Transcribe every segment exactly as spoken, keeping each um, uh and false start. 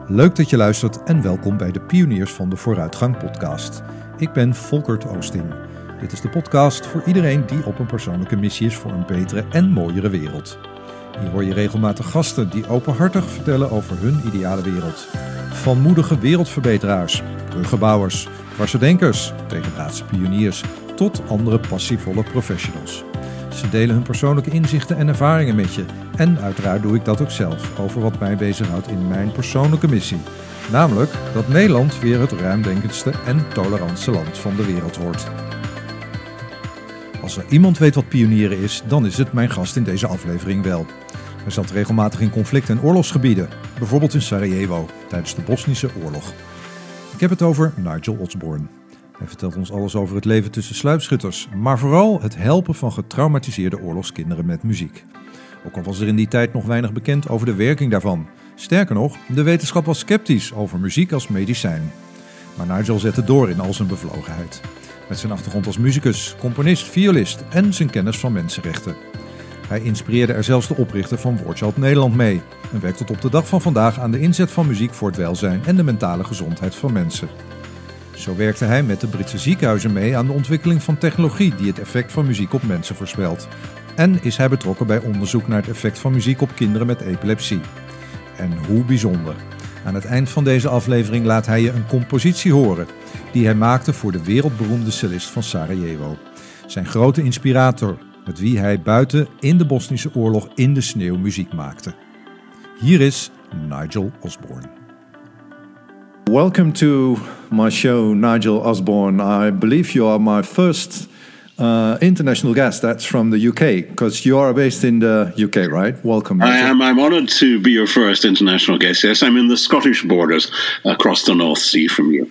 Leuk dat je luistert en welkom bij de Pioniers van de Vooruitgang podcast. Ik ben Volkert Oosting. Dit is de podcast voor iedereen die op een persoonlijke missie is voor een betere en mooiere wereld. Hier hoor je regelmatig gasten die openhartig vertellen over hun ideale wereld. Van moedige wereldverbeteraars, bruggenbouwers, dwarsdenkers, tegendraadse pioniers tot andere passievolle professionals. Ze delen hun persoonlijke inzichten en ervaringen met je. En uiteraard doe ik dat ook zelf, over wat mij bezighoudt in mijn persoonlijke missie. Namelijk dat Nederland weer het ruimdenkendste en tolerantste land van de wereld wordt. Als er iemand weet wat pionieren is, dan is het mijn gast in deze aflevering wel. Hij zat regelmatig in conflict- en oorlogsgebieden, bijvoorbeeld in Sarajevo, tijdens de Bosnische oorlog. Ik heb het over Nigel Osborne. Hij vertelt ons alles over het leven tussen sluipschutters, maar vooral het helpen van getraumatiseerde oorlogskinderen met muziek. Ook al was er in die tijd nog weinig bekend over de werking daarvan. Sterker nog, de wetenschap was sceptisch over muziek als medicijn. Maar Nigel zette door in al zijn bevlogenheid. Met zijn achtergrond als muzikus, componist, violist en zijn kennis van mensenrechten. Hij inspireerde er zelfs de oprichter van Woordchild Nederland mee en werkt tot op de dag van vandaag aan de inzet van muziek voor het welzijn en de mentale gezondheid van mensen. Zo werkte hij met de Britse ziekenhuizen mee aan de ontwikkeling van technologie die het effect van muziek op mensen voorspelt. En is hij betrokken bij onderzoek naar het effect van muziek op kinderen met epilepsie. En hoe bijzonder. Aan het eind van deze aflevering laat hij je een compositie horen die hij maakte voor de wereldberoemde cellist van Sarajevo. Zijn grote inspirator, met wie hij buiten in de Bosnische oorlog in de sneeuw muziek maakte. Hier is Nigel Osborne. Welcome to my show, Nigel Osborne. I believe you are my first uh, international guest. That's from the U K, because you are based in the U K, right? Welcome, Nigel. I am. I'm honoured to be your first international guest. Yes, I'm in the Scottish borders, across the North Sea from you.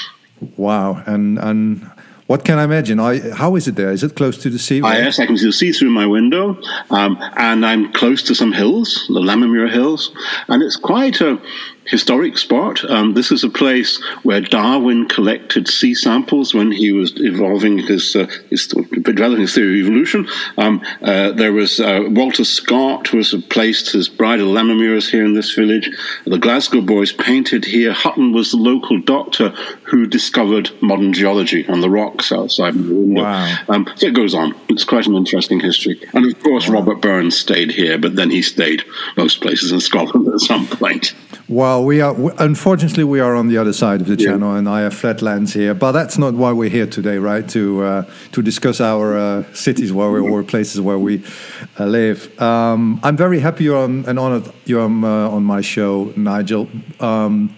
Wow, and and what can I imagine? I, how is it there? Is it close to the sea? Ah, yes, I can see the sea through my window, um, and I'm close to some hills, the Lammermuir Hills, and it's quite a historic spot. Um, this is a place where Darwin collected sea samples when he was evolving his, uh, his developing his theory of evolution. Um, uh, there was uh, Walter Scott was placed his bridal Lammermuirs here in this village. The Glasgow boys painted here. Hutton was the local doctor who discovered modern geology on the rocks outside the window. Wow. Um, so it goes on. It's quite an interesting history. And of course, wow. Robert Burns stayed here, but then he stayed most places in Scotland at some point. Well, we are unfortunately we are on the other side of the yeah. channel, and I have flat lands here. But that's not why we're here today, right? To uh, to discuss our uh, cities where we or places where we uh, live. Um, I'm very happy you're on, and honored you're on, uh, on my show, Nigel. Um,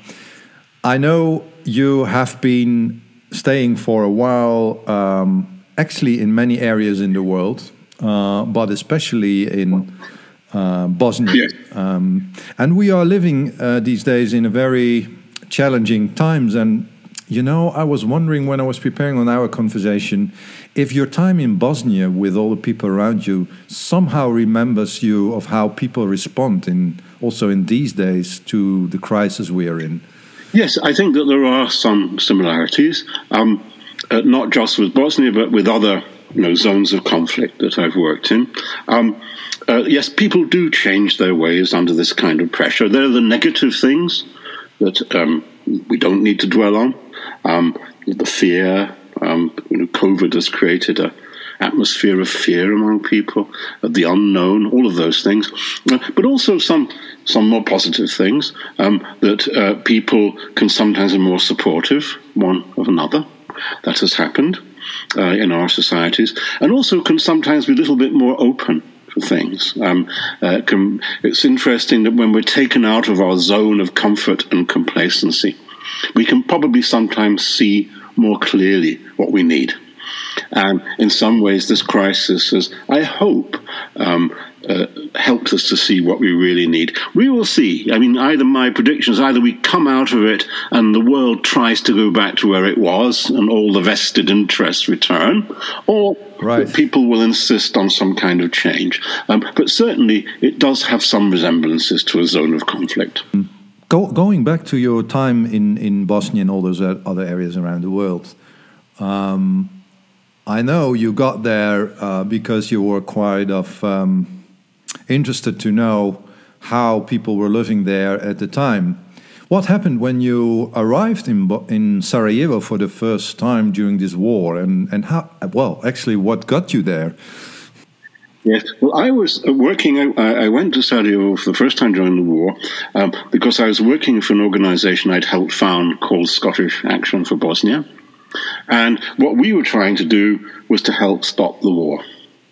I know you have been staying for a while, um, actually in many areas in the world, uh, but especially in Uh, Bosnia. Yes. Um, and we are living uh, these days in a very challenging times. And, you know, I was wondering when I was preparing on our conversation, if your time in Bosnia with all the people around you somehow remembers you of how people respond in also in these days to the crisis we are in. Yes, I think that there are some similarities, um, uh, not just with Bosnia, but with other you know, zones of conflict that I've worked in. Um, Uh, yes, people do change their ways under this kind of pressure. There are the negative things that um, we don't need to dwell on. Um, the fear, um, you know, COVID has created a atmosphere of fear among people, of the unknown, all of those things. Uh, but also some some more positive things, um, that uh, people can sometimes be more supportive one of another. That has happened uh, in our societies. And also can sometimes be a little bit more open for things. Um, uh, can, it's interesting that when we're taken out of our zone of comfort and complacency, we can probably sometimes see more clearly what we need. And in some ways, this crisis has, I hope, um, uh, helped us to see what we really need. We will see. I mean, either my predictions, either we come out of it and the world tries to go back to where it was and all the vested interests return, or right. people will insist on some kind of change. Um, but certainly, it does have some resemblances to a zone of conflict. Go, going back to your time in, in Bosnia and all those other areas around the world, um, I know you got there uh, because you were quite of um, interested to know how people were living there at the time. What happened when you arrived in Bo- in Sarajevo for the first time during this war, and and how? Well, actually, what got you there? Yes, well, I was working. I, I went to Sarajevo for the first time during the war um, because I was working for an organisation I'd helped found called Scottish Action for Bosnia, and what we were trying to do was to help stop the war.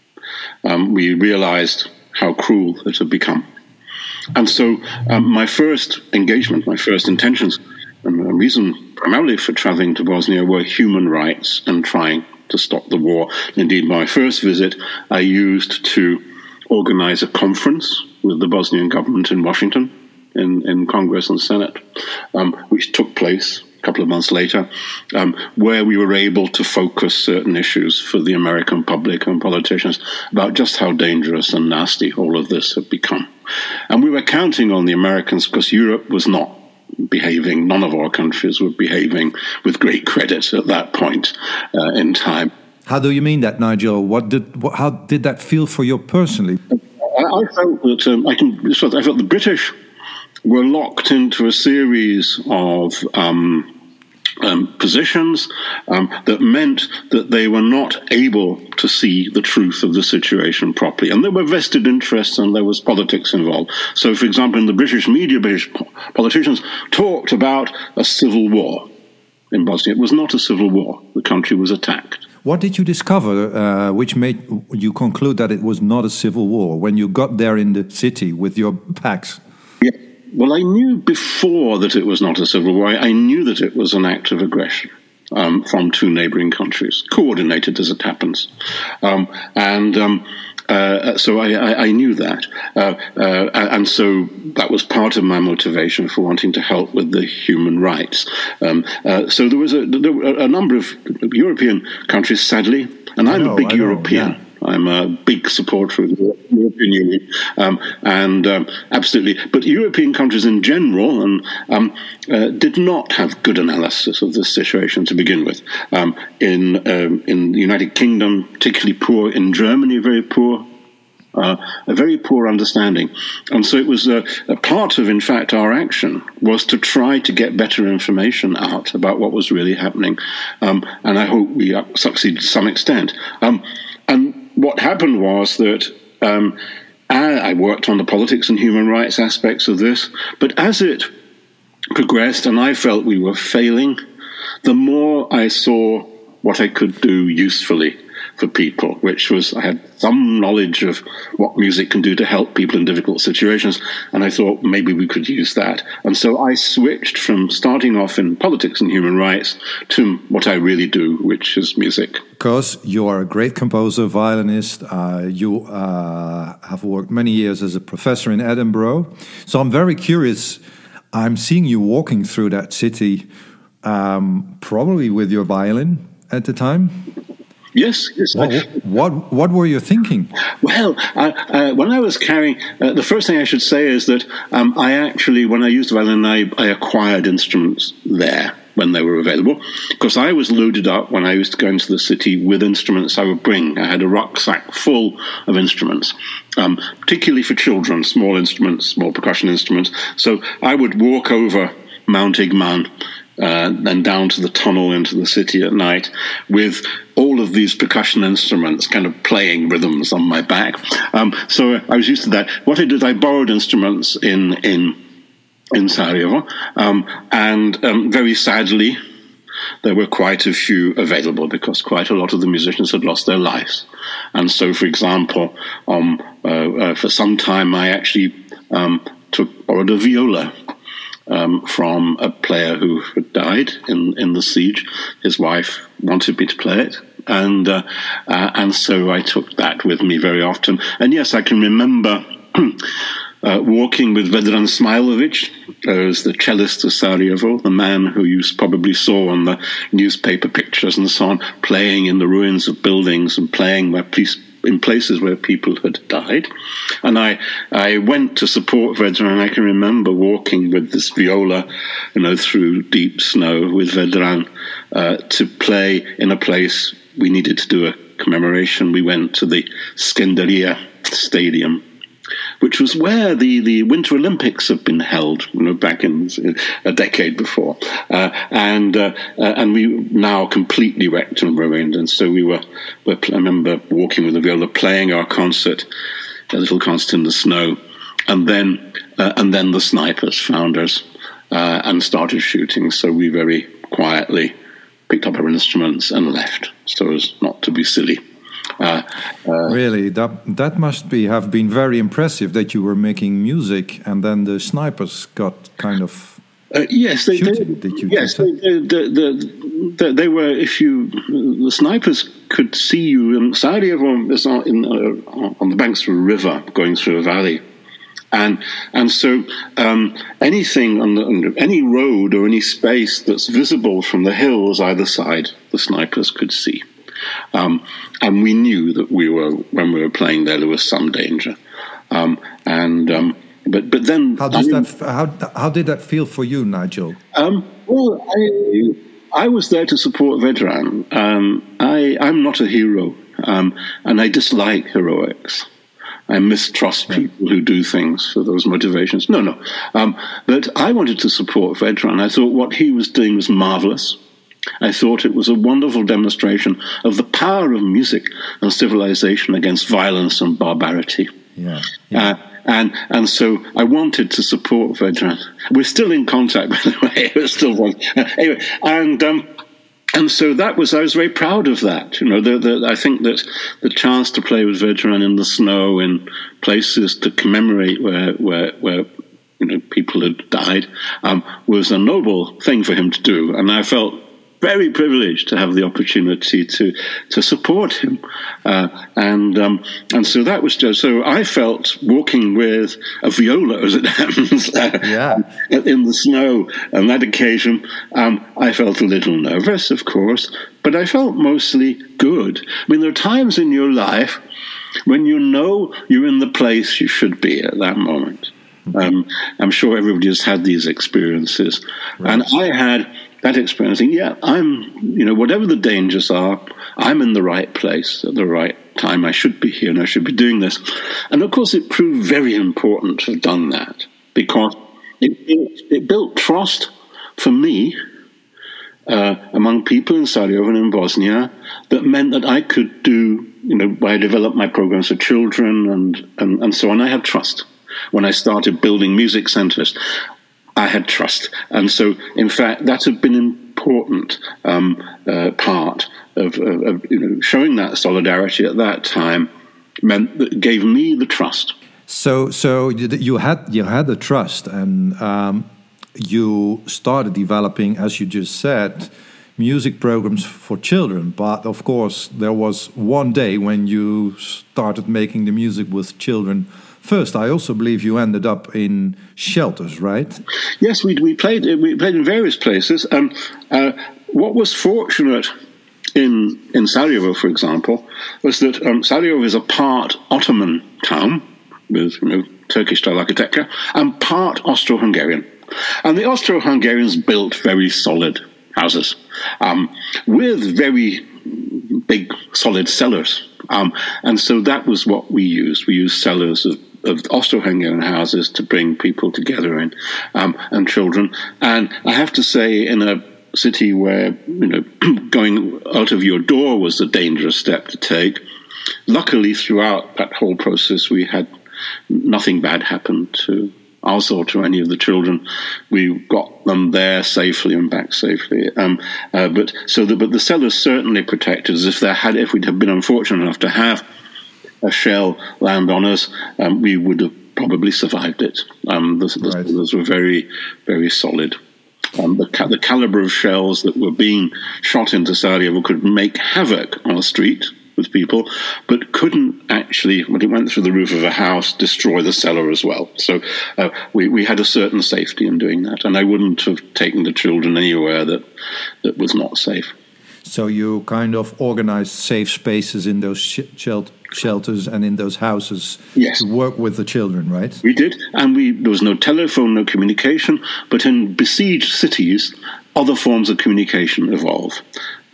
Um, we realised how cruel it had become. And so um, my first engagement, my first intentions, and the reason primarily for travelling to Bosnia were human rights and trying to stop the war. Indeed, my first visit I used to organise a conference with the Bosnian government in Washington, in, in Congress and Senate, um, which took place a couple of months later, um, where we were able to focus certain issues for the American public and politicians about just how dangerous and nasty all of this had become. And we were counting on the Americans because Europe was not behaving, none of our countries were behaving with great credit at that point uh, in time. How do you mean that, Nigel? What did what, how did that feel for you personally? I, I felt that um, I can. I felt the British were locked into a series of um, um, positions um, that meant that they were not able to see the truth of the situation properly. And there were vested interests and there was politics involved. So, for example, in the British media, British politicians talked about a civil war in Bosnia. It was not a civil war. The country was attacked. What did you discover uh, which made you conclude that it was not a civil war when you got there in the city with your packs? Yeah. Well, I knew before that it was not a civil war. I knew that it was an act of aggression um, from two neighbouring countries, coordinated as it happens. Um, and um, uh, so I, I, I knew that. Uh, uh, and so that was part of my motivation for wanting to help with the human rights. Um, uh, so there was a, there were a number of European countries, sadly, and I'm know, a big I European. Know, yeah. I'm a big supporter of the European Union, um, and um, absolutely. But European countries in general and, um, uh, did not have good analysis of this situation to begin with. Um, in um, in the United Kingdom, particularly poor. In Germany, very poor. Uh, a very poor understanding. And so it was a, a part of, in fact, our action was to try to get better information out about what was really happening. Um, and I hope we succeeded to some extent. Um, and what happened was that um, I worked on the politics and human rights aspects of this, but as it progressed and I felt we were failing, the more I saw what I could do usefully for people, which was I had some knowledge of what music can do to help people in difficult situations, and I thought maybe we could use that. And so I switched from starting off in politics and human rights to what I really do, which is music. Because you are a great composer, violinist, uh, you uh, have worked many years as a professor in Edinburgh. So I'm very curious. I'm seeing you walking through that city, um, probably with your violin at the time. Yes, yes. What, what what were you thinking? Well, uh, uh, when I was carrying, uh, the first thing I should say is that um, I actually, when I used the violin, I, I acquired instruments there when they were available, because I was loaded up when I used to go into the city with instruments I would bring. I had a rucksack full of instruments, um, particularly for children, small instruments, small percussion instruments. So I would walk over Mount Igman, Uh, then down to the tunnel into the city at night with all of these percussion instruments kind of playing rhythms on my back. Um, so I was used to that. What I did, I borrowed instruments in in, in Sarajevo, um, and um, very sadly, there were quite a few available because quite a lot of the musicians had lost their lives. And so, for example, um, uh, uh, for some time I actually um, took borrowed a viola Um, from a player who had died in, in the siege. His wife wanted me to play it, and uh, uh, and so I took that with me very often. And yes, I can remember uh, walking with Vedran Smailovic, as the cellist of Sarajevo, the man who you probably saw on the newspaper pictures and so on, playing in the ruins of buildings and playing where police in places where people had died. And I I went to support Vedran, and I can remember walking with this viola, you know, through deep snow with Vedran uh, to play in a place we needed to do a commemoration. We went to the Skenderia Stadium, which was where the, the Winter Olympics have been held, you know, back in a decade before, uh, and uh, uh, and we now completely wrecked and ruined. And so we were, were, I remember walking with the viola, playing our concert, a little concert in the snow, and then uh, and then the snipers found us uh, and started shooting. So we very quietly picked up our instruments and left, so as not to be silly. Uh, uh, really, that that must be have been very impressive that you were making music and then the snipers got kind of uh, yes, they shooting, did. did you yes, they, they, the, the, they were. If you the snipers could see you in Sarajevo is on, in, uh, on the banks of a river going through a valley. And and so um, anything on, the, on any road or any space that's visible from the hills either side, the snipers could see. Um, and we knew that we were when we were playing there, there was some danger. Um, and um, but but then how does I mean, that how how did that feel for you, Nigel? Um, well, I I was there to support Vedran. Um, I I'm not a hero, um, and I dislike heroics. I mistrust people who do things for those motivations. No, no. Um, but I wanted to support Vedran. I thought what he was doing was marvelous. I thought it was a wonderful demonstration of the power of music and civilization against violence and barbarity. Yeah. yeah. Uh, and and so I wanted to support Vedran. We're still in contact, by the way. We're still one. Uh, anyway, and. Um, And so that was, I was very proud of that. You know, the, the, I think that the chance to play with Vedran in the snow in places to commemorate where, where, where you know, people had died um, was a noble thing for him to do. And I felt very privileged to have the opportunity to to support him, uh, and um, and so that was just so I felt walking with a viola, as it happens, uh, yeah. in the snow on that occasion. Um, I felt a little nervous, of course, but I felt mostly good. I mean, there are times in your life when you know you're in the place you should be at that moment. Um, I'm sure everybody has had these experiences, right. And I had that experience. Yeah, I'm, you know, whatever the dangers are, I'm in the right place at the right time. I should be here and I should be doing this. And of course, it proved very important to have done that because it, it, it built trust for me uh, among people in Sarajevo and in Bosnia that meant that I could do, you know, I developed my programs for children and, and, and so on. I had trust. When I started building music centers, I had trust. And so, in fact, that had been an important um, uh, part of, of, of you know, showing that solidarity at that time meant that gave me the trust. So, so you had you had the trust, and um, you started developing, as you just said, music programs for children. But of course, there was one day when you started making the music with children. First, I also believe you ended up in shelters, right? Yes, we we played we played in various places. Um, uh, what was fortunate in in Sarajevo, for example, was that um, Sarajevo is a part Ottoman town with you know Turkish-style architecture and part Austro-Hungarian, and the Austro-Hungarians built very solid houses um, with very big solid cellars, um, and so that was what we used. We used cellars of of Austro-Hungarian houses to bring people together in, um, and children. And I have to say, in a city where, you know, going out of your door was a dangerous step to take, luckily throughout that whole process, we had nothing bad happen to us or to any of the children. We got them there safely and back safely. Um, uh, but so the, but the cellars certainly protected us. If there had, if we'd have been unfortunate enough to have a shell land on us, um, we would have probably survived it. Um, the, the right. cellars were very, very solid. Um, the, ca- the caliber of shells that were being shot into Sarajevo could make havoc on a street with people, but couldn't actually, when it went through the roof of a house, destroy the cellar as well. So uh, we, we had a certain safety in doing that, and I wouldn't have taken the children anywhere that, that was not safe. So you kind of organized safe spaces in those sh- shel- shelters and in those houses yes. to work with the children, right? We did, and we there was no telephone, no communication, but in besieged cities, other forms of communication evolve.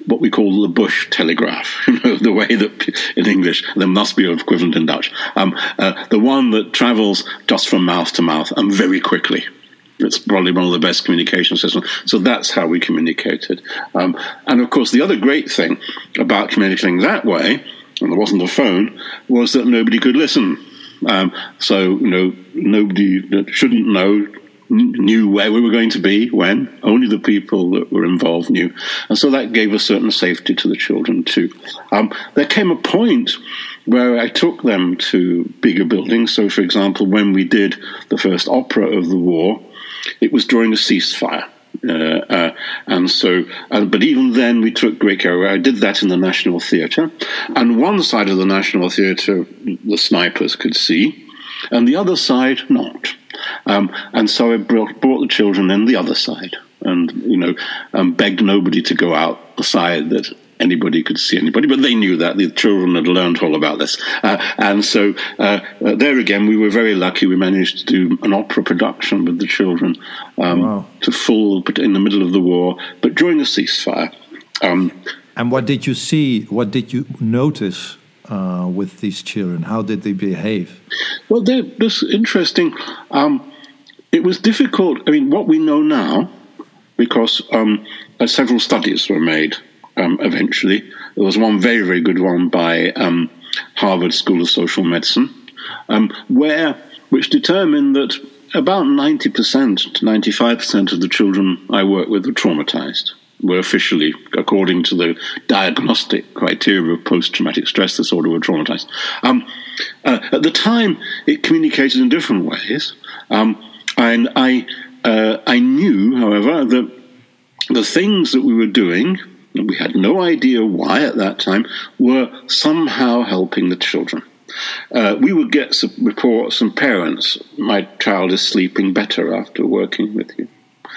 what we call the bush telegraph, you know, the way that in English, there must be an equivalent in Dutch, um, uh, the one that travels just from mouth to mouth and very quickly. It's probably one of the best communication systems. So that's how we communicated. Um, and of course, the other great thing about communicating that way, and there wasn't a phone, was that nobody could listen. Um, so, you know, nobody that shouldn't know knew where we were going to be, when. Only the people that were involved knew. And so that gave a certain safety to the children too. Um, there came a point where I took them to bigger buildings. So, for example, when we did the first opera of the war, it was during a ceasefire. Uh, uh, and so, uh, but even then we took great care. I did that in the National Theatre. And one side of the National Theatre, the snipers could see, and the other side, not. Um, and so I brought, brought the children in the other side and, you know, um, begged nobody to go out the side that anybody could see anybody. But they knew that. The children had learned all about this. Uh, and so uh, uh, there again, we were very lucky. We managed to do an opera production with the children um, wow. to full in the middle of the war, but during a ceasefire. Um, and what did you see? What did you notice Uh, with these children? How did they behave? Well, this interesting. Um, it was difficult. I mean, what we know now, because um, uh, several studies were made um, eventually. There was one very, very good one by um, Harvard School of Social Medicine, um, where which determined that about ninety percent to ninety-five percent of the children I work with were traumatized. Were officially, according to the diagnostic criteria of post-traumatic stress disorder, were traumatized. Um, uh, at the time, it communicated in different ways. Um, and I, uh, I knew, however, that the things that we were doing, and we had no idea why at that time, were somehow helping the children. Uh, we would get some reports from parents, my child is sleeping better after working with you.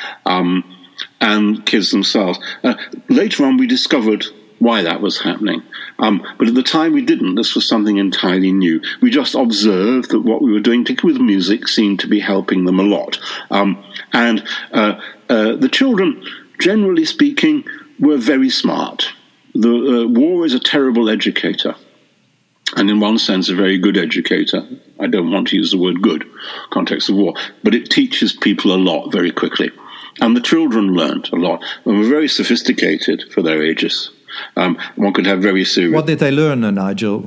Um, and kids themselves. Uh, later on, we discovered why that was happening. Um, but at the time, we didn't. This was something entirely new. We just observed that what we were doing, particularly with music, seemed to be helping them a lot. Um, and uh, uh, the children, generally speaking, were very smart. The uh, war is a terrible educator. And in one sense, a very good educator. I don't want to use the word good, context of war. But it teaches people a lot very quickly. And the children learned a lot and were very sophisticated for their ages. Um, one could have very serious... What did they learn, uh, Nigel?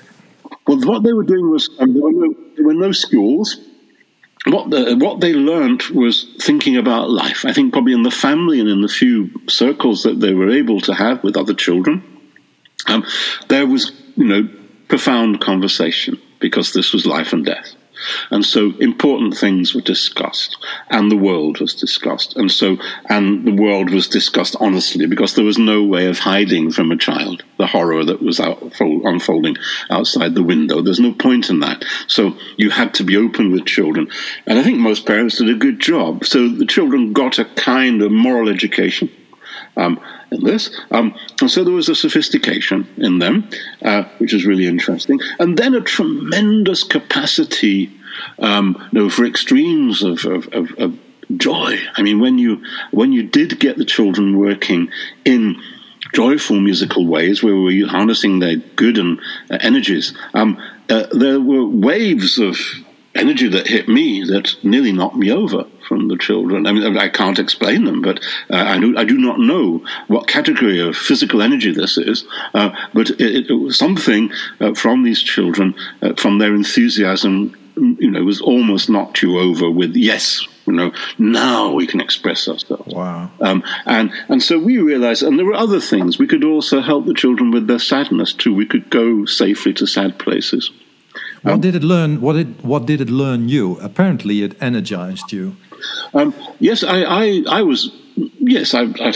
Well, what they were doing was, um, there, were no, there were no schools. What, the, what they learned was thinking about life. I think probably in the family and in the few circles that they were able to have with other children, um, there was, you know, profound conversation, because this was life and death. And so important things were discussed, and the world was discussed. And so, and the world was discussed honestly, because there was no way of hiding from a child the horror that was out, unfolding outside the window. There's no point in that. So you had to be open with children. And I think most parents did a good job. So the children got a kind of moral education um, in this. Um, and so there was a sophistication in them, uh, which is really interesting. And then a tremendous capacity um, you know, for extremes of, of, of, of joy. I mean, when you when you did get the children working in joyful musical ways, where we were harnessing their good and uh, energies, um, uh, there were waves of energy that hit me that nearly knocked me over from the children. I mean, I can't explain them, but uh, I, do, I do not know what category of physical energy this is, uh, but it, it was something uh, from these children, uh, from their enthusiasm, you know, was almost knocked you over with, yes, you know, now we can express ourselves. Wow. Um, and, and so we realized, and there were other things, we could also help the children with their sadness too. We could go safely to sad places. What Um, did it learn? What did what did it learn you? Apparently, it energized you. Um, yes, I, I, I was. Yes, I, I,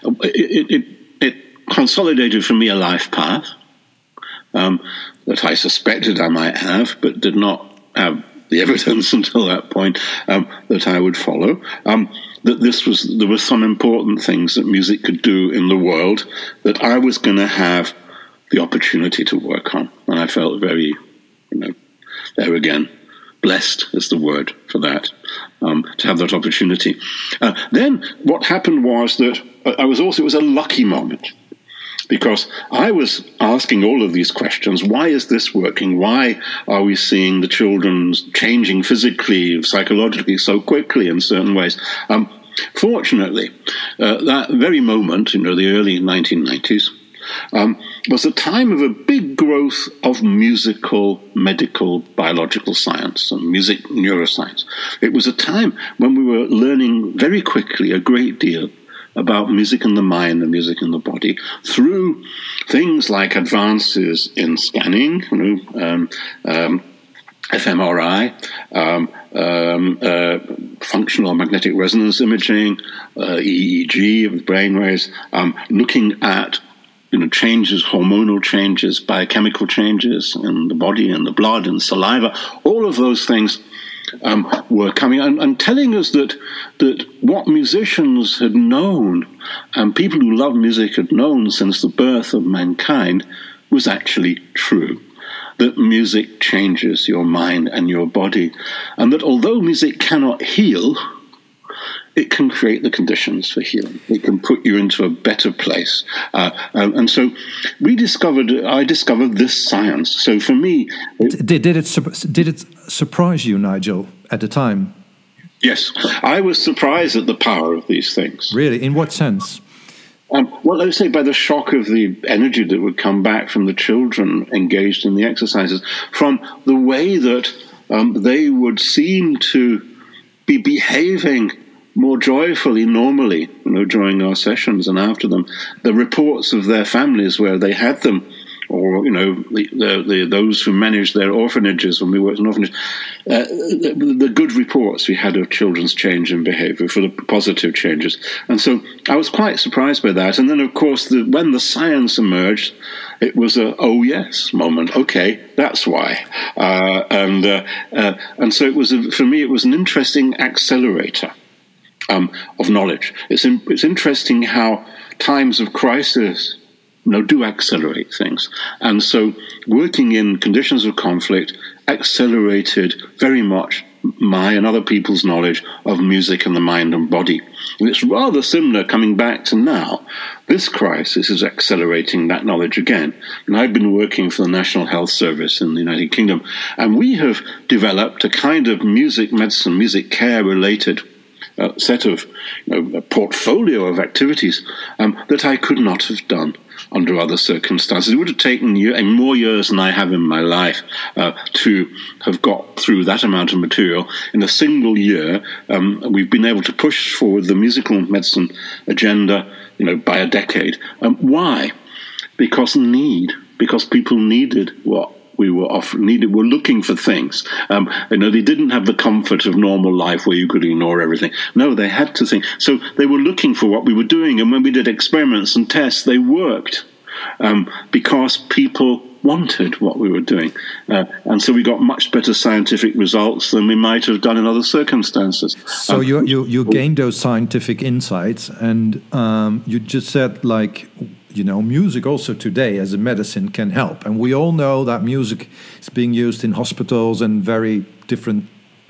it, it, it consolidated for me a life path um, that I suspected I might have, but did not have the evidence until that point um, that I would follow. Um, that this was there were some important things that music could do in the world that I was going to have the opportunity to work on, and I felt very. You know, there again, blessed is the word for that, um, to have that opportunity. Uh, then what happened was that I was also, it was a lucky moment. Because I was asking all of these questions. Why is this working? Why are we seeing the children changing physically, psychologically so quickly in certain ways? Um, fortunately, uh, that very moment, you know, the early nineteen nineties, um, was a time of a big growth of musical, medical, biological science and music neuroscience. It was a time when we were learning very quickly a great deal about music in the mind and music in the body through things like advances in scanning, you know, um, um, fMRI, um, um, uh, functional magnetic resonance imaging, uh, E E G of the brainwaves, um, looking at you know changes, hormonal changes, biochemical changes in the body and the blood and saliva. All of those things Um, were coming and, and telling us that that what musicians had known and people who love music had known since the birth of mankind was actually true. That music changes your mind and your body, and that although music cannot heal, it can create the conditions for healing. It can put you into a better place. Uh, and, and so we discovered, I discovered this science. So for me... It, did, did, it, did it surprise you, Nigel, at the time? Yes. I was surprised at the power of these things. Really? In what sense? Um, well, let's say by the shock of the energy that would come back from the children engaged in the exercises, from the way that um, they would seem to be behaving more joyfully normally, you know, during our sessions and after them. The reports of their families where they had them, or, you know, the, the, the, those who managed their orphanages when we worked in orphanages, uh, the, the good reports we had of children's change in behavior, for the positive changes. And so I was quite surprised by that. And then, of course, the, when the science emerged, it was a, oh, yes moment. Okay, that's why. Uh, and, uh, uh, and so it was, a, for me, it was an interesting accelerator Um, of knowledge. It's in, it's interesting how times of crisis, you know, do accelerate things, and so working in conditions of conflict accelerated very much my and other people's knowledge of music and the mind and body. And it's rather similar coming back to now. This crisis is accelerating that knowledge again. And I've been working for the National Health Service in the United Kingdom, and we have developed a kind of music medicine, music care related Uh, set of you know, a portfolio of activities um, that I could not have done under other circumstances. It would have taken year, more years than I have in my life uh, to have got through that amount of material. In a single year, um, we've been able to push forward the musical medicine agenda, you know, by a decade. Um, why? Because need, because people needed what we were often needed, were looking for things. Um, you know, they didn't have the comfort of normal life where you could ignore everything. No, they had to think. So they were looking for what we were doing. And when we did experiments and tests, they worked um, because people wanted what we were doing. Uh, and so we got much better scientific results than we might have done in other circumstances. So um, you, you, you gained those scientific insights, and um, you just said, like, you know, music also today as a medicine can help. And we all know that music is being used in hospitals and very different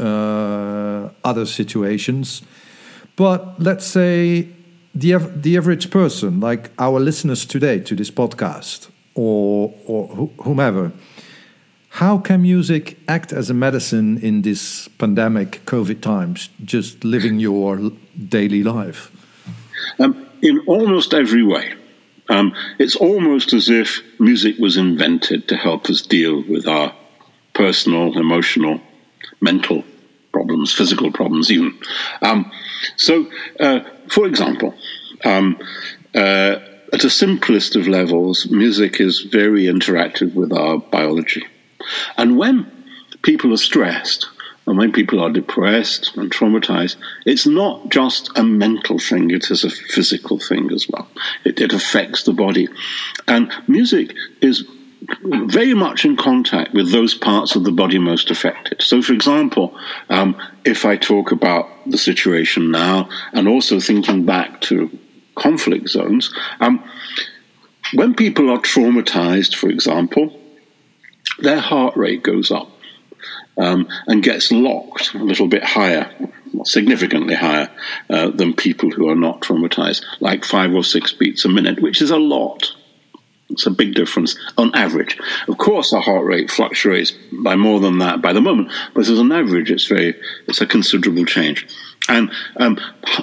uh, other situations. But let's say the the average person, like our listeners today to this podcast, or or whomever, how can music act as a medicine in this pandemic COVID times, just living your daily life? Um, in almost every way. Um, it's almost as if music was invented to help us deal with our personal, emotional, mental problems, physical problems even. Um, so, uh, for example, um, uh, at the simplest of levels, music is very interactive with our biology. And when people are stressed, and when people are depressed and traumatized, it's not just a mental thing, it is a physical thing as well. It, it affects the body. And music is very much in contact with those parts of the body most affected. So, for example, um, if I talk about the situation now, and also thinking back to conflict zones, um, when people are traumatized, for example, their heart rate goes up. Um, and gets locked a little bit higher, significantly higher uh, than people who are not traumatized, like five or six beats a minute, which is a lot. It's a big difference on average. Of course, our heart rate fluctuates by more than that by the moment, but as an average, it's very it's a considerable change. And um,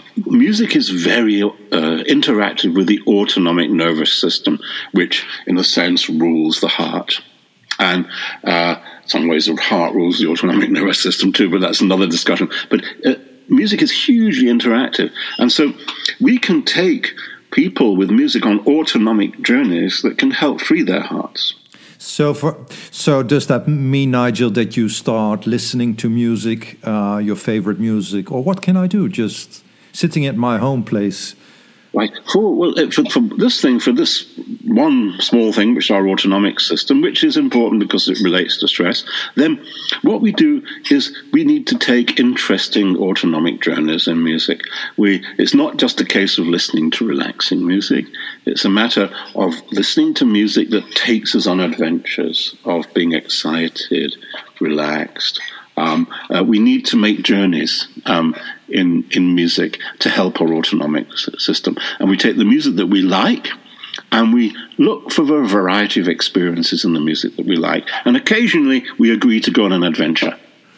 music is very uh, interactive with the autonomic nervous system, which, in a sense, rules the heart. And uh, some ways the heart rules the autonomic nervous system too, but that's another discussion. But uh, music is hugely interactive. And so we can take people with music on autonomic journeys that can help free their hearts. So, for, so does that mean, Nigel, that you start listening to music, uh, your favorite music, or what can I do? Just sitting at my home place. Right. For, well, for, for this thing, for this one small thing, which is our autonomic system, which is important because it relates to stress, then what we do is we need to take interesting autonomic journeys in music. We, it's not just a case of listening to relaxing music. It's a matter of listening to music that takes us on adventures of being excited, relaxed. Um, uh, we need to make journeys um, in in music to help our autonomic system. And we take the music that we like, and we look for a variety of experiences in the music that we like. And occasionally, we agree to go on an adventure.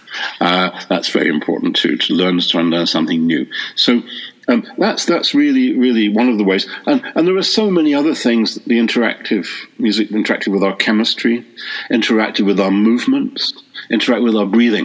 Uh, that's very important too, to learn to try and learn something new. So um, that's that's really really one of the ways. And and there are so many other things. The interactive music, interactive with our chemistry, interactive with our movements, interact with our breathing.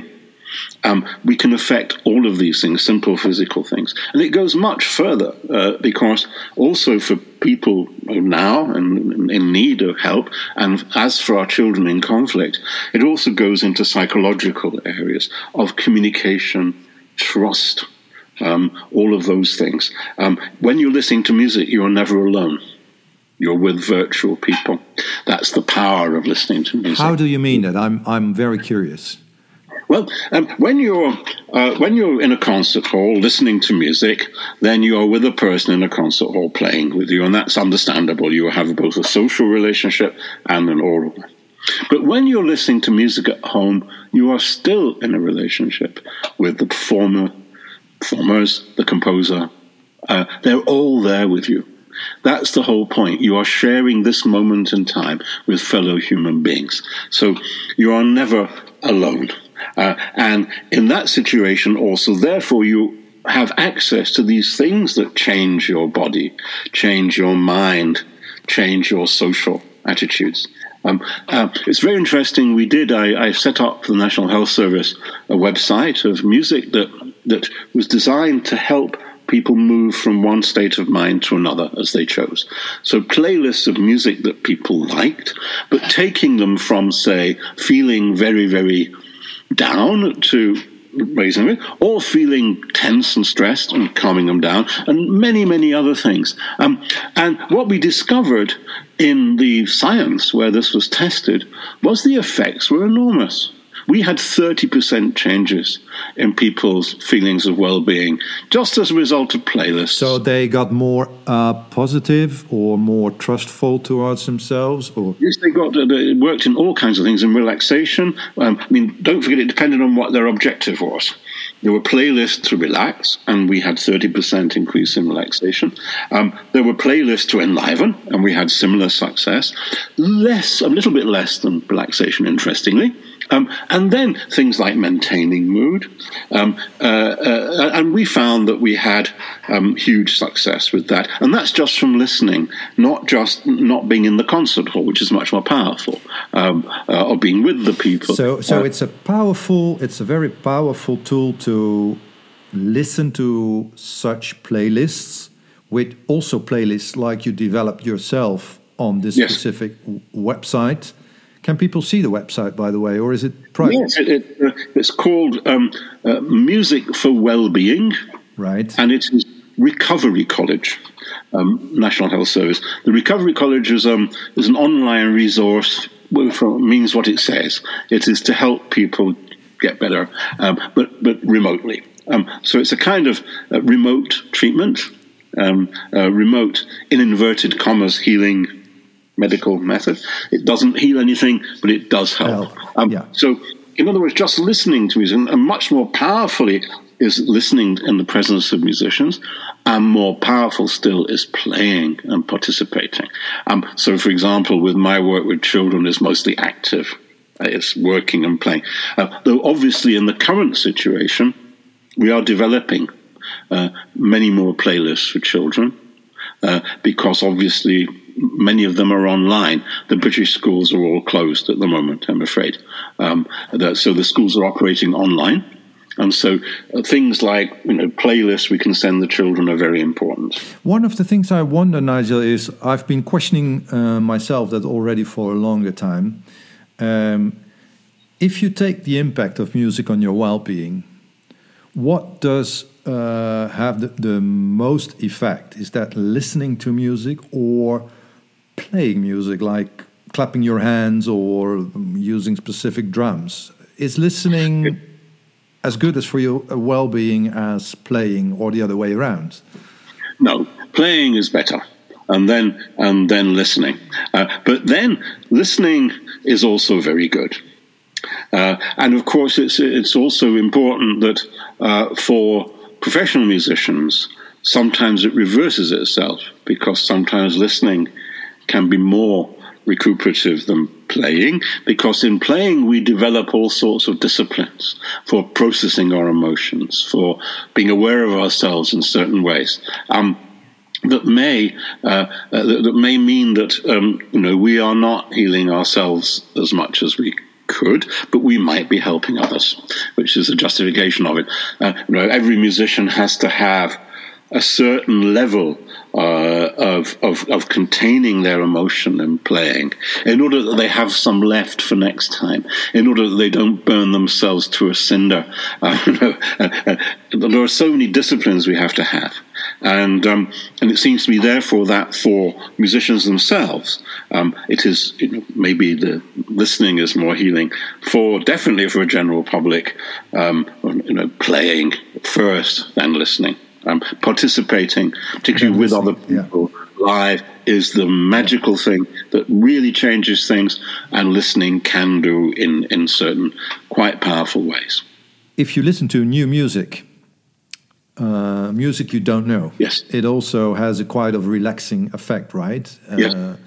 Um, we can affect all of these things, simple physical things. And it goes much further uh, because also for people now and in need of help, and as for our children in conflict, it also goes into psychological areas of communication, trust, um, all of those things. Um, when you're listening to music, you're never alone. You're with virtual people. That's the power of listening to music. How do you mean that? I'm I'm very curious. Well, um, when you're uh, when you're in a concert hall listening to music, then you're with a person in a concert hall playing with you, and that's understandable. You have both a social relationship and an oral one. But when you're listening to music at home, you are still in a relationship with the performer, performers, the composer. Uh, they're all there with you. That's the whole point. You are sharing this moment in time with fellow human beings. So you are never alone. Uh, and in that situation also, therefore, you have access to these things that change your body, change your mind, change your social attitudes. Um, uh, it's very interesting. We did, I, I set up for the National Health Service a website of music that, that was designed to help people move from one state of mind to another as they chose. So playlists of music that people liked, but taking them from, say, feeling very, very down to raising it, or feeling tense and stressed and calming them down, and many, many other things. Um, and what we discovered in the science where this was tested was the effects were enormous. We had thirty percent changes in people's feelings of well-being just as a result of playlists. So they got more uh, positive or more trustful towards themselves? Or Yes, they got. It worked in all kinds of things, in relaxation. Um, I mean, don't forget, it depended on what their objective was. There were playlists to relax, and we had thirty percent increase in relaxation. Um, there were playlists to enliven, and we had similar success. Less, a little bit less than relaxation, interestingly. Um, and then things like maintaining mood. Um, uh, uh, and we found that we had um, huge success with that. And that's just from listening, not just not being in the concert hall, which is much more powerful, um, uh, or being with the people. So, so uh, it's a powerful, it's a very powerful tool to listen to such playlists, with also playlists like you developed yourself on this yes. specific w- website. Can people see the website, by the way, or is it private? Yes, it, it, uh, it's called um, uh, Music for Wellbeing. Right. And it is Recovery College, um, National Health Service. The Recovery College is, um, is an online resource, which means what it says. It is to help people get better, um, but, but remotely. Um, so it's a kind of uh, remote treatment, um, uh, remote, in inverted commas, healing medical method. It doesn't heal anything, but it does help. help. Um, yeah. So, in other words, just listening to music, and much more powerfully, is listening in the presence of musicians, and more powerful still is playing and participating. Um, so, for example, with my work with children, it's mostly active. Uh, it's working and playing. Uh, though obviously in the current situation, we are developing uh, many more playlists for children uh, because obviously many of them are online. The British schools are all closed at the moment, I'm afraid. Um, that, so the schools are operating online. And so uh, things like, you know, playlists we can send the children are very important. One of the things I wonder, Nigel, is I've been questioning uh, myself that already for a longer time. Um, if you take the impact of music on your well-being, what does uh, have the, the most effect? Is that listening to music or playing music, like clapping your hands or using specific drums? Is listening it, as good as for your well-being as playing, or the other way around? No, playing is better. And then, and then listening. Uh, but then listening is also very good. Uh, and of course, it's it's also important that uh, for professional musicians, sometimes it reverses itself, because sometimes listening can be more recuperative than playing, because in playing we develop all sorts of disciplines for processing our emotions, for being aware of ourselves in certain ways. Um, That may uh, uh, that may mean that um, you know we are not healing ourselves as much as we could, but we might be helping others, which is the justification of it. Uh, you know, every musician has to have a certain level uh, of, of of containing their emotion in playing, in order that they have some left for next time, in order that they don't burn themselves to a cinder. Uh, you know, uh, uh, there are so many disciplines we have to have. And um, and it seems to me, therefore, that for musicians themselves, um, it is, you know, maybe the listening is more healing. For definitely for a general public, um, you know, playing first, then listening, um, participating, particularly with other people yeah. live, is the magical thing that really changes things, and listening can do in in certain quite powerful ways. If you listen to new music. Uh, music you don't know. Yes. It also has a quite of relaxing effect, right? Yes. Uh,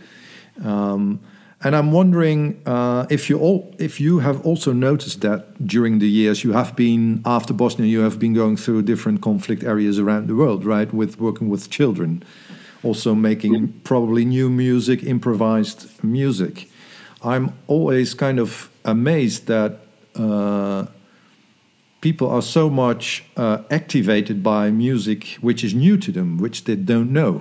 um, and I'm wondering uh, if you all, if you have also noticed that during the years you have been, after Bosnia, you have been going through different conflict areas around the world, right? With working with children, also making mm. probably new music, improvised music. I'm always kind of amazed that uh, people are so much uh, activated by music which is new to them, which they don't know.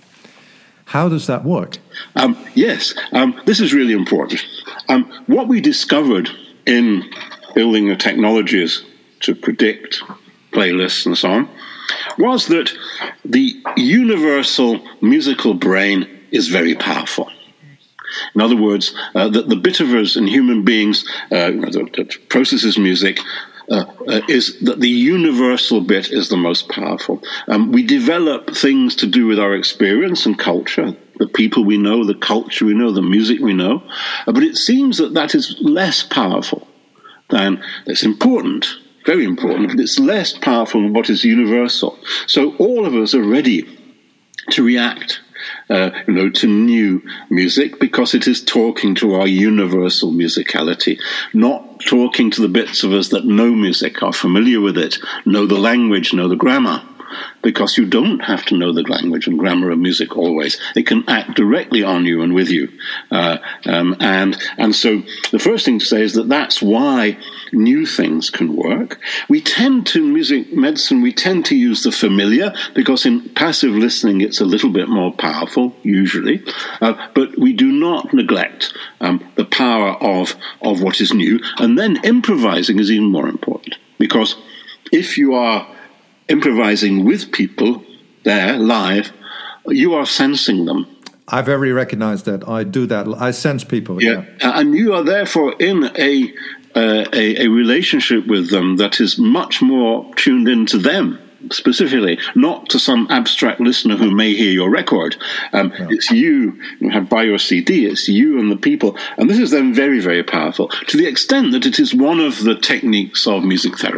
How does that work? Um, yes, um, this is really important. Um, what we discovered in building the technologies to predict playlists and so on was that the universal musical brain is very powerful. In other words, uh, that the bit of us in human beings uh, that, that processes music Uh, uh, is that the universal bit is the most powerful. Um, we develop things to do with our experience and culture, the people we know, the culture we know, the music we know, uh, but it seems that that is less powerful than, it's important, very important, but it's less powerful than what is universal. So all of us are ready to react Uh, you know, to new music, because it is talking to our universal musicality, not talking to the bits of us that know music, are familiar with it, know the language, know the grammar, because you don't have to know the language and grammar of music always. It can act directly on you and with you. Uh, um, and and so the first thing to say is that that's why new things can work. We tend to, music medicine, we tend to use the familiar, because in passive listening it's a little bit more powerful, usually. Uh, but we do not neglect um, the power of, of what is new. And then improvising is even more important, because if you are improvising with people there live, you are sensing them. I very recognize that. I do that. I sense people. Yeah, yeah. And you are therefore in a, uh, a a relationship with them that is much more tuned into them specifically, not to some abstract listener who may hear your record. Um, yeah. It's you, you have buy your C D, it's you and the people. And this is then very, very powerful, to the extent that it is one of the techniques of music therapy.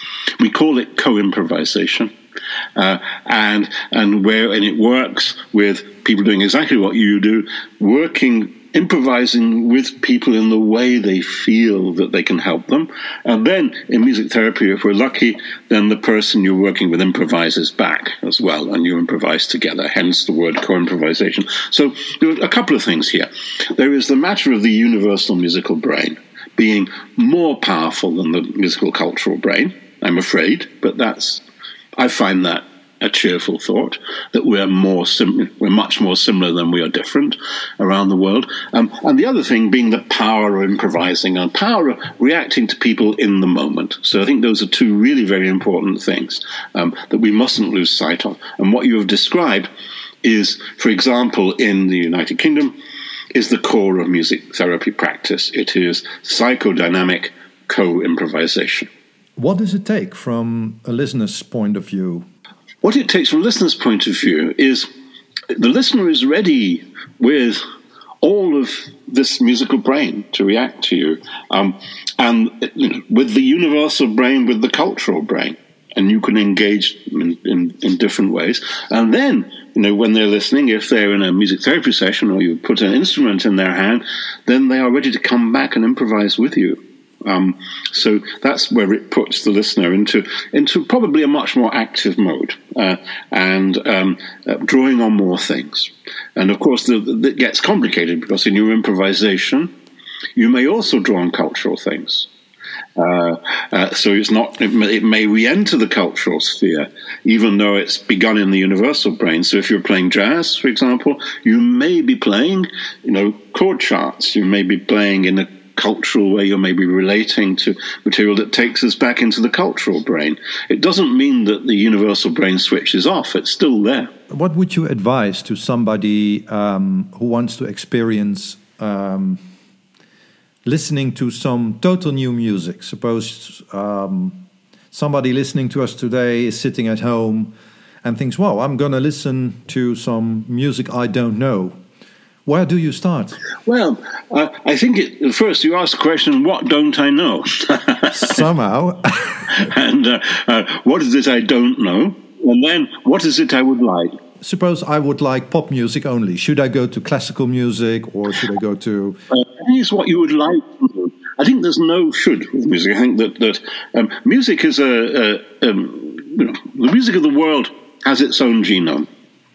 We call it co-improvisation. Uh, and and where and it works with people doing exactly what you do, working, improvising with people in the way they feel that they can help them. And then in music therapy, if we're lucky, then the person you're working with improvises back as well, and you improvise together, hence the word co-improvisation. So there are a couple of things here. There is the matter of the universal musical brain being more powerful than the musical cultural brain, I'm afraid, but that's I find that a cheerful thought, that we're more sim- we're much more similar than we are different around the world. Um, and the other thing being the power of improvising and power of reacting to people in the moment. So I think those are two really very important things um, that we mustn't lose sight of. And what you have described is, for example, in the United Kingdom, is the core of music therapy practice. It is psychodynamic co-improvisation. What does it take from a listener's point of view? What it takes from a listener's point of view is the listener is ready with all of this musical brain to react to you, um, and you know, with the universal brain, with the cultural brain, and you can engage in, in, in different ways. And then, you know, when they're listening, if they're in a music therapy session or you put an instrument in their hand, then they are ready to come back and improvise with you. Um, so that's where it puts the listener into into probably a much more active mode uh, and um, uh, drawing on more things. And of course, the, the, it gets complicated because in your improvisation, you may also draw on cultural things. Uh, uh, so it's not. It may, it may re-enter the cultural sphere, even though it's begun in the universal brain. So if you're playing jazz, for example, you may be playing, you know, chord charts. You may be playing in a cultural way, you may be relating to material that takes us back into the cultural brain. It doesn't mean that the universal brain switches off. It's still there. What would you advise to somebody um, who wants to experience um, listening to some total new music? Suppose um, somebody listening to us today is sitting at home and thinks, well, I'm going to listen to some music I don't know. Where do you start? Well, uh, I think it, first you ask the question, what don't I know? Somehow. and uh, uh, what is it I don't know? And then what is it I would like? Suppose I would like pop music only. Should I go to classical music or should I go to... Uh, I think it's what you would like to do. I think there's no should with music. I think that, that um, music is a... a um, you know, the music of the world has its own genome.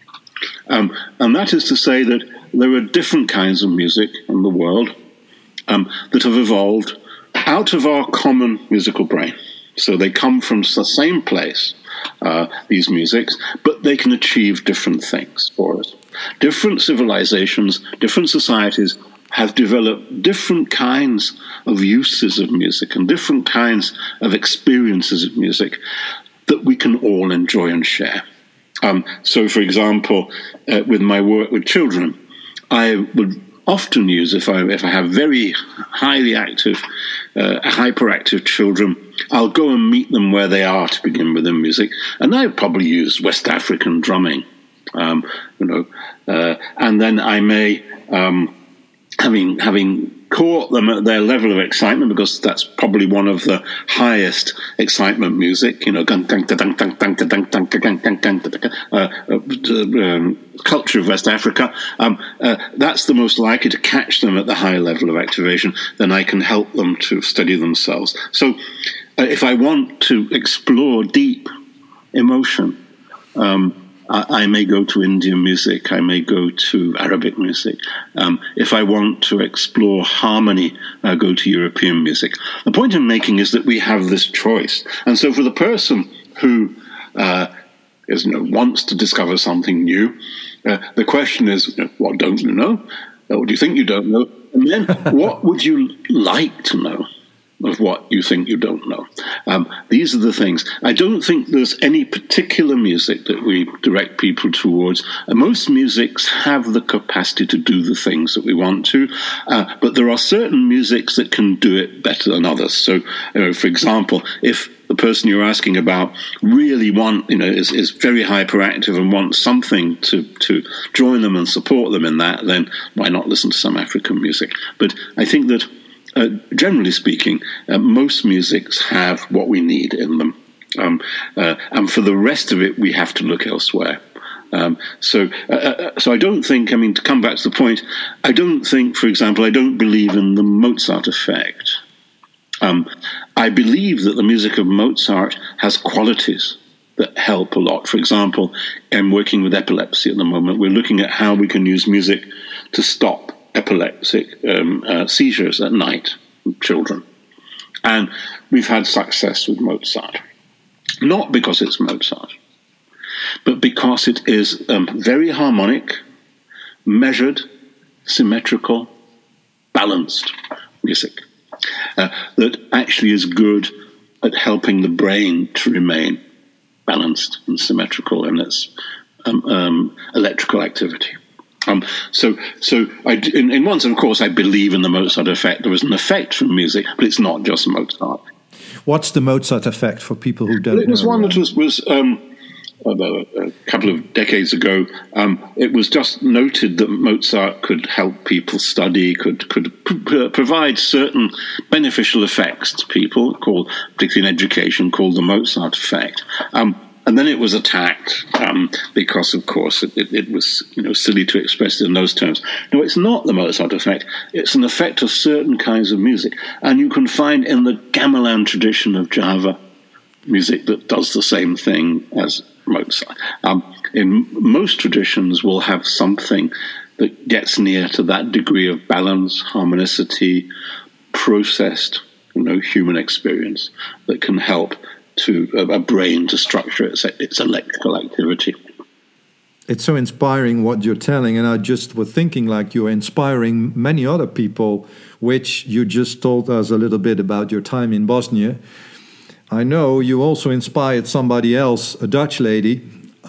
Um, and that is to say that there are different kinds of music in the world um, that have evolved out of our common musical brain. So they come from the same place, uh, these musics, but they can achieve different things for us. Different civilizations, different societies have developed different kinds of uses of music and different kinds of experiences of music that we can all enjoy and share. Um, so, for example, uh, with my work with children, I would often use, if I if I have very highly active, uh, hyperactive children, I'll go and meet them where they are to begin with in music, and I probably use West African drumming, um, you know, uh, and then I may, um, having having caught them at their level of excitement, because that's probably one of the highest excitement music, you know, culture of West Africa, um, uh, that's the most likely to catch them at the high level of activation, then I can help them to steady themselves. So uh, if I want to explore deep emotion, um, I may go to Indian music, I may go to Arabic music. Um, if I want to explore harmony, I go to European music. The point I'm making is that we have this choice. And so for the person who uh, is, you know, wants to discover something new, uh, the question is, you know, what don't you know? What do you think you don't know? And then what would you like to know of what you think you don't know? Um, these are the things. I don't think there's any particular music that we direct people towards. Uh, most musics have the capacity to do the things that we want to, uh, but there are certain musics that can do it better than others. So, uh, for example, if the person you're asking about really want, you know, is, is very hyperactive and wants something to, to join them and support them in that, then why not listen to some African music? But I think that Uh, generally speaking, uh, most musics have what we need in them. Um, uh, and for the rest of it, we have to look elsewhere. Um, so, uh, so I don't think, I mean, to come back to the point, I don't think, for example, I don't believe in the Mozart effect. Um, I believe that the music of Mozart has qualities that help a lot. For example, I'm working with epilepsy at the moment. We're looking at how we can use music to stop epileptic um, uh, seizures at night in children. And we've had success with Mozart. Not because it's Mozart, but because it is um, very harmonic, measured, symmetrical, balanced music uh, that actually is good at helping the brain to remain balanced and symmetrical in its um, um, electrical activity. Um, so, so I, in, in one sense, of course, I believe in the Mozart effect. There is an effect from music, but it's not just Mozart. What's the Mozart effect for people who don't know? It was one that was, was um, about a couple of decades ago. Um, it was just noted that Mozart could help people study, could could pr- provide certain beneficial effects to people, called, particularly in education, called the Mozart effect. Um, And then it was attacked um, because, of course, it, it, it was you know silly to express it in those terms. No, it's not the Mozart effect. It's an effect of certain kinds of music. And you can find in the gamelan tradition of Java music that does the same thing as Mozart. Um, in most traditions, we'll have something that gets near to that degree of balance, harmonicity, processed you know, human experience that can help to a, a brain to structure its, its electrical activity. It's so inspiring what you're telling, and I just was thinking like you're inspiring many other people, which you just told us a little bit about your time in Bosnia. I know you also inspired somebody else, a Dutch lady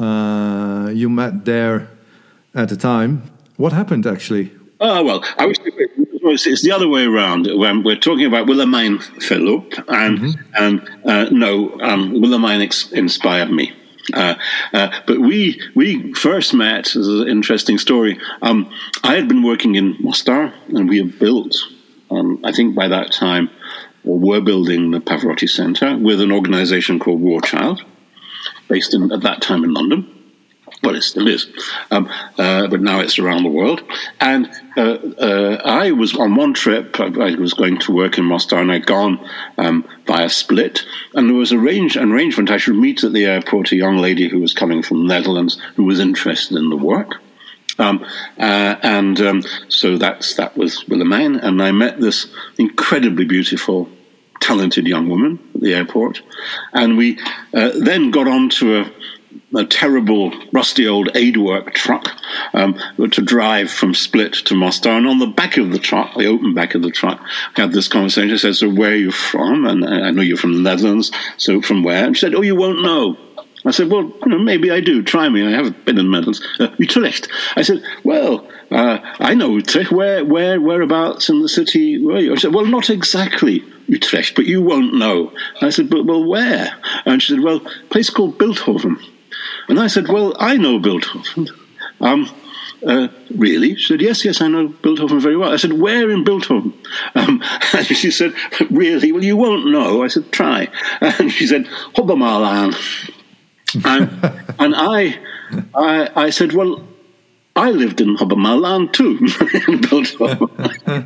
uh, you met there at the time. What happened actually? Oh, well, I was... It's the other way around. When we're talking about Willemijn Philip, and mm-hmm. and uh, no, um, Willemijn ex- inspired me. Uh, uh, but we we first met. This is an interesting story. Um, I had been working in Mostar, and we had built. Um, I think by that time, or were building the Pavarotti Center with an organization called War Child, based in at that time in London. Well, it still is, um, uh, but now it's around the world. And uh, uh, I was on one trip, I was going to work in Mostar, and I'd gone um, via Split, and there was a range, an arrangement I should meet at the airport a young lady who was coming from the Netherlands who was interested in the work. Um, uh, and um, so that's that was Willemijn, and I met this incredibly beautiful, talented young woman at the airport. And we uh, then got on to a a terrible, rusty old aid-work truck um, to drive from Split to Mostar. And on the back of the truck, the open back of the truck, I had this conversation. I said, so where are you from? And I know you're from the Netherlands, so from where? And she said, oh, you won't know. I said, well, you know, maybe I do. Try me. I haven't been in the Netherlands. Uh, Utrecht. I said, well, uh, I know Utrecht. Where, where, whereabouts in the city were you? I said, well, not exactly Utrecht, but you won't know. I said, but well, where? And she said, well, a place called Bilthoven. And I said, well, I know Bilthoven. Um, uh, really? She said, yes, yes, I know Bilthoven very well. I said, where in Bilthoven? Um, and she said, really? Well, you won't know. I said, try. And she said, Hobbemarlaan. and, and I, I, I said, well, I lived in Hobbemarlaan too, in Bilthoven.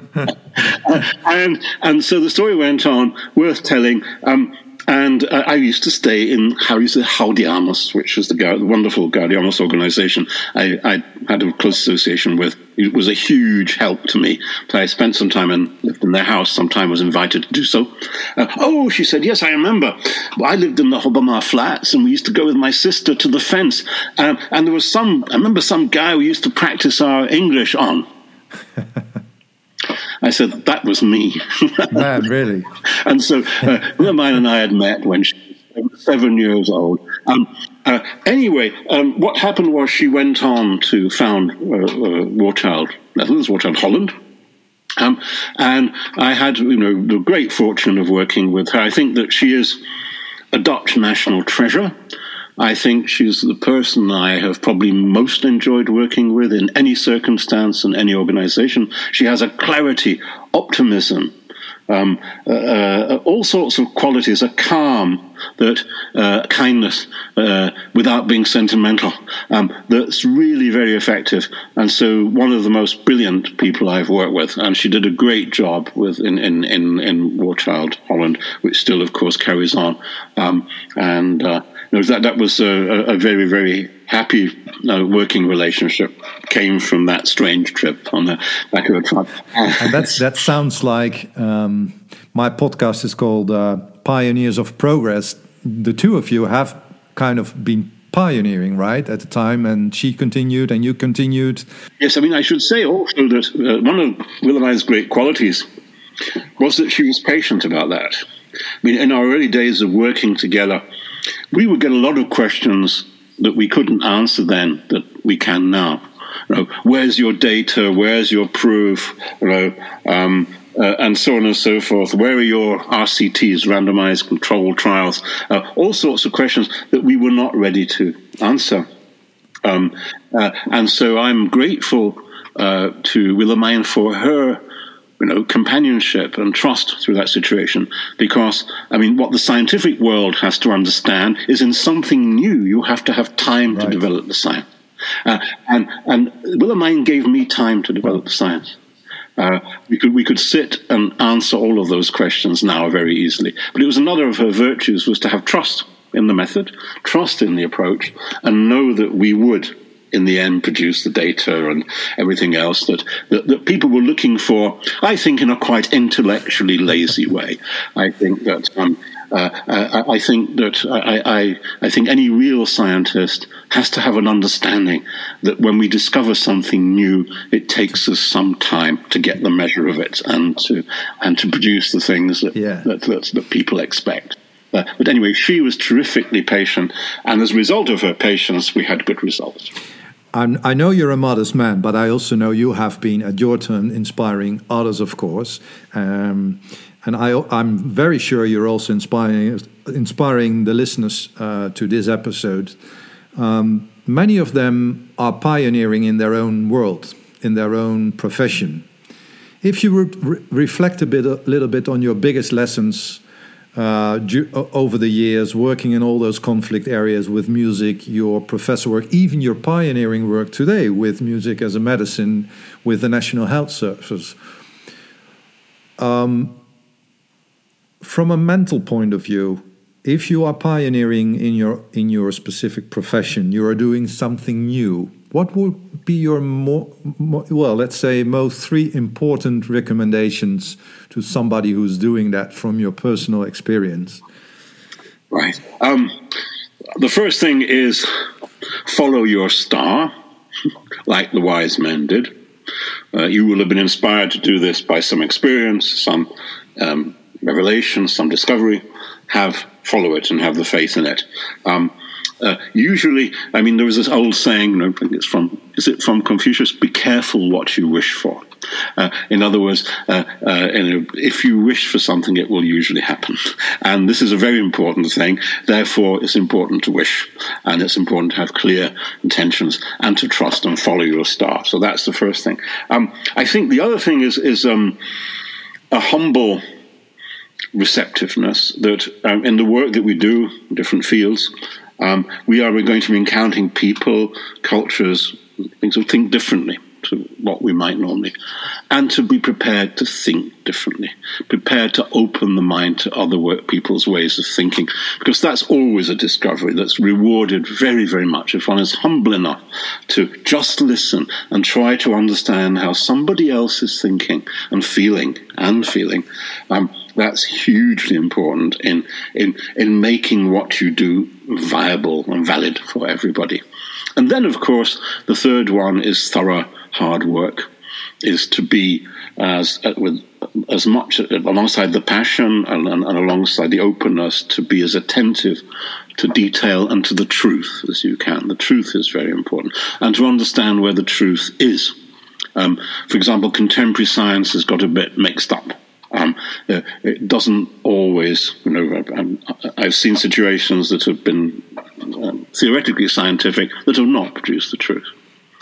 and, and so the story went on, worth telling. Um, And uh, I used to stay in how you say Gaudiamus, which was the, Ga- the wonderful Gaudiamus organization I, I had a close association with. It was a huge help to me. So I spent some time and lived in their house. Sometime was invited to do so. Uh, oh, she said, yes, I remember. I lived in the Hobbemar flats, and we used to go with my sister to the fence. Um, and there was some, I remember some guy we used to practice our English on. I said, that was me. Man, really? And so uh, Willemijn and I had met when she was seven years old. Um, uh, anyway, um, what happened was she went on to found uh, uh, War Child Netherlands, War Child Holland. Um, and I had, you know, the great fortune of working with her. I think that she is a Dutch national treasure. I think she's the person I have probably most enjoyed working with in any circumstance and any organization. She has a clarity, optimism, Um, uh, uh, all sorts of qualities, a calm, that uh, kindness, uh, without being sentimental, um, that's really very effective. And so, one of the most brilliant people I've worked with, and she did a great job with in in in, in War Child Holland, which still, of course, carries on. Um, and uh, you know, that that was a, a very very happy uh, working relationship. Came from that strange trip on the back of a truck. And that's that sounds like um, my podcast is called uh, Pioneers of Progress. The two of you have kind of been pioneering, right, at the time, and she continued and you continued. Yes, I mean, I should say also that uh, one of Wilhelmine's great qualities was that she was patient about that. I mean, in our early days of working together, we would get a lot of questions that we couldn't answer then that we can now. You know, where's your data? Where's your proof? You know, um, uh, and so on and so forth. Where are your R C Ts, randomized controlled trials? Uh, all sorts of questions that we were not ready to answer. Um, uh, and so I'm grateful uh, to Wilhelmine for her, you know, companionship and trust through that situation. Because, I mean, what the scientific world has to understand is in something new, you have to have time right. to develop the science. Uh, and and Wilhelmine gave me time to develop the science. Uh, we could we could sit and answer all of those questions now very easily. But it was another of her virtues was to have trust in the method, trust in the approach, and know that we would, in the end, produce the data and everything else that, that, that people were looking for, I think, in a quite intellectually lazy way. I think that um, uh, I, I think that I, I, I think any real scientist has to have an understanding that when we discover something new, it takes us some time to get the measure of it and to and to produce the things that yeah. that, that, that people expect. Uh, but anyway, she was terrifically patient, and as a result of her patience, we had good results. I'm, I know you're a modest man, but I also know you have been, at your turn, inspiring others, of course. Um, and I, I'm very sure you're also inspiring, inspiring the listeners uh, to this episode. Um, many of them are pioneering in their own world, in their own profession. If you re- re- reflect a bit, a little bit on your biggest lessons Uh, du- over the years, working in all those conflict areas with music, your professor work, even your pioneering work today with music as a medicine with the National Health Service. Um, from a mental point of view, if you are pioneering in your in your specific profession, you are doing something new. What would be your more, more well, let's say, most three important recommendations to somebody who's doing that from your personal experience? Right. Um, the first thing is follow your star, like the wise men did. Uh, you will have been inspired to do this by some experience, some um, revelation, some discovery. Have follow it and have the faith in it. Um, Uh, usually, I mean, there was this old saying, you know, I think it's from, is it from Confucius? Be careful what you wish for. Uh, in other words, uh, uh, you know, if you wish for something, it will usually happen. And this is a very important thing. Therefore, it's important to wish. And it's important to have clear intentions and to trust and follow your star. So that's the first thing. Um, I think the other thing is, is um, a humble receptiveness that um, in the work that we do, different fields, Um, we are going to be encountering people, cultures, things that think differently to what we might normally, and to be prepared to think differently, prepared to open the mind to other work, people's ways of thinking, because that's always a discovery that's rewarded very, very much if one is humble enough to just listen and try to understand how somebody else is thinking and feeling and feeling. Um, That's hugely important in, in in making what you do viable and valid for everybody. And then, of course, the third one is thorough hard work, is to be as uh, with as much uh, alongside the passion and, and, and alongside the openness, to be as attentive to detail and to the truth as you can. The truth is very important, and to understand where the truth is. Um, for example, contemporary science has got a bit mixed up. Um, uh, it doesn't always, you know, um, I've seen situations that have been um, theoretically scientific that have not produced the truth.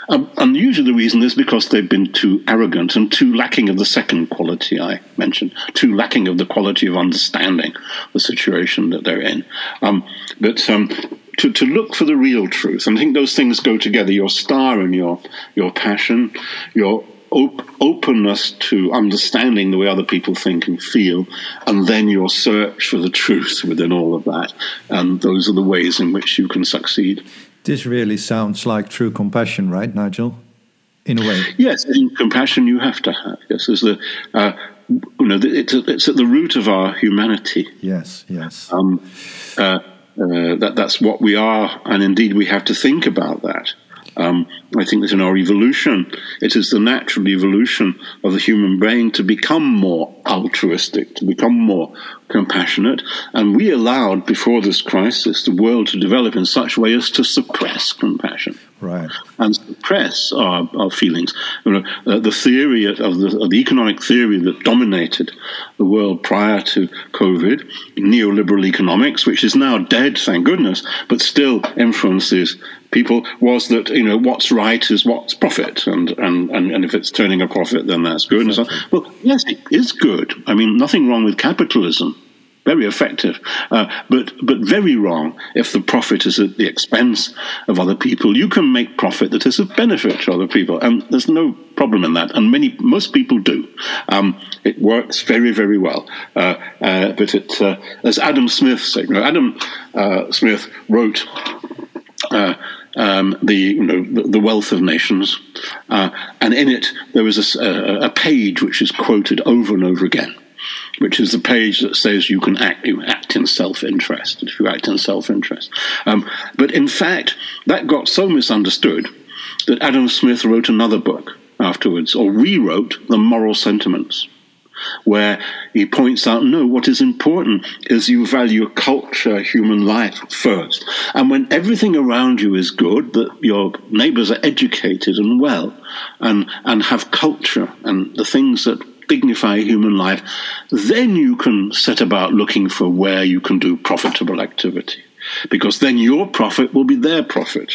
Um, and usually the reason is because they've been too arrogant and too lacking of the second quality I mentioned, too lacking of the quality of understanding the situation that they're in. Um, but um, to, to look for the real truth, and I think those things go together, your star and your, your passion, your op- openness to understanding the way other people think and feel, and then your search for the truth within all of that. And those are the ways in which you can succeed. This really sounds like true compassion, right, Nigel? In a way. Yes, in compassion you have to have. Yes, there's the, uh, you know, it's, it's at the root of our humanity. Yes, yes. Um, uh, uh, that that's what we are, and indeed we have to think about that. Um, I think that in our evolution, it is the natural evolution of the human brain to become more altruistic, to become more compassionate. And we allowed, before this crisis, the world to develop in such a way as to suppress compassion. Right. And suppress our, our feelings. You know, uh, the theory of the, of the economic theory that dominated the world prior to COVID, neoliberal economics, which is now dead, thank goodness, but still influences people, was that, you know, what's right is what's profit, and, and, and, and if it's turning a profit, then that's good. Exactly. And so, well, yes, it is good. I mean, nothing wrong with capitalism. Very effective, uh, but but very wrong if the profit is at the expense of other people. You can make profit that is of benefit to other people, and there's no problem in that. And many, most people do. Um, it works very, very well. Uh, uh, but it, uh, as Adam Smith said, you know, Adam uh, Smith wrote uh, um, the you know the, the Wealth of Nations, uh, and in it there was a, a page which is quoted over and over again, which is the page that says you can act, you act in self-interest, if you act in self-interest. Um, but in fact, that got so misunderstood that Adam Smith wrote another book afterwards, or rewrote The Moral Sentiments, where he points out, no, what is important is you value culture, human life first. And when everything around you is good, that your neighbours are educated and well, and, and have culture, and the things that dignify human life, then you can set about looking for where you can do profitable activity, because then your profit will be their profit.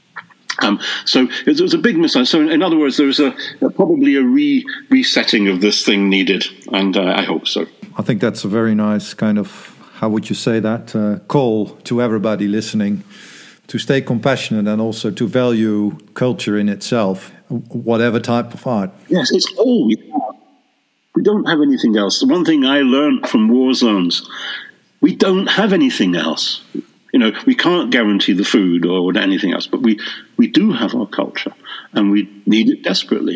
Um, so it was a big misunderstanding. So in other words, there was a, a probably a re- resetting of this thing needed, and uh, I hope so. I think that's a very nice kind of, how would you say that, uh, call to everybody listening to stay compassionate and also to value culture in itself, whatever type of art. Yes, it's all we have. We don't have anything else. The one thing I learned from war zones, we don't have anything else. You know, we can't guarantee the food or anything else, but we, we do have our culture, and we need it desperately.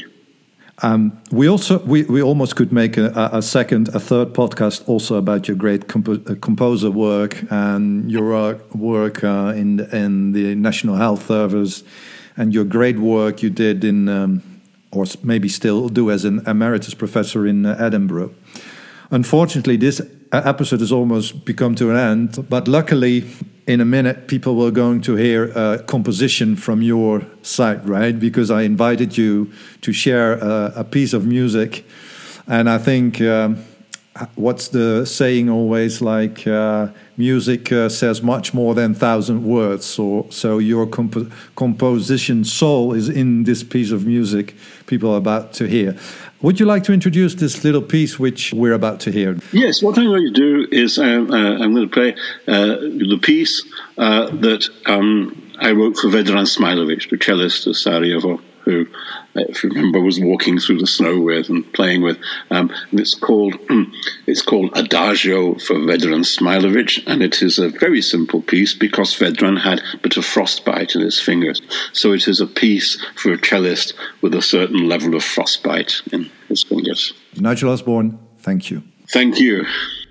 Um, we also we, we almost could make a, a second, a third podcast also about your great compo- composer work and your uh, work uh, in in the National Health Service, and your great work you did in. Um, or maybe still do as an emeritus professor in uh, Edinburgh. Unfortunately, this episode has almost become to an end, but luckily, in a minute, people were going to hear a composition from your side, right? Because I invited you to share a, a piece of music, and I think, um, what's the saying always, like, uh, music uh, says much more than thousand words, so, so your comp- composition soul is in this piece of music people are about to hear. Would you like to introduce this little piece which we're about to hear? Yes, what I'm going to do is um, uh, I'm going to play uh, the piece uh, that um, I wrote for Vedran Smailovic, the cellist of Sarajevo, who, if you remember, was walking through the snow with and playing with. Um, and it's called it's called Adagio for Vedran Smailovic, and it is a very simple piece because Vedran had a bit of frostbite in his fingers. So it is a piece for a cellist with a certain level of frostbite in his fingers. Nigel Osborne, thank you. Thank you.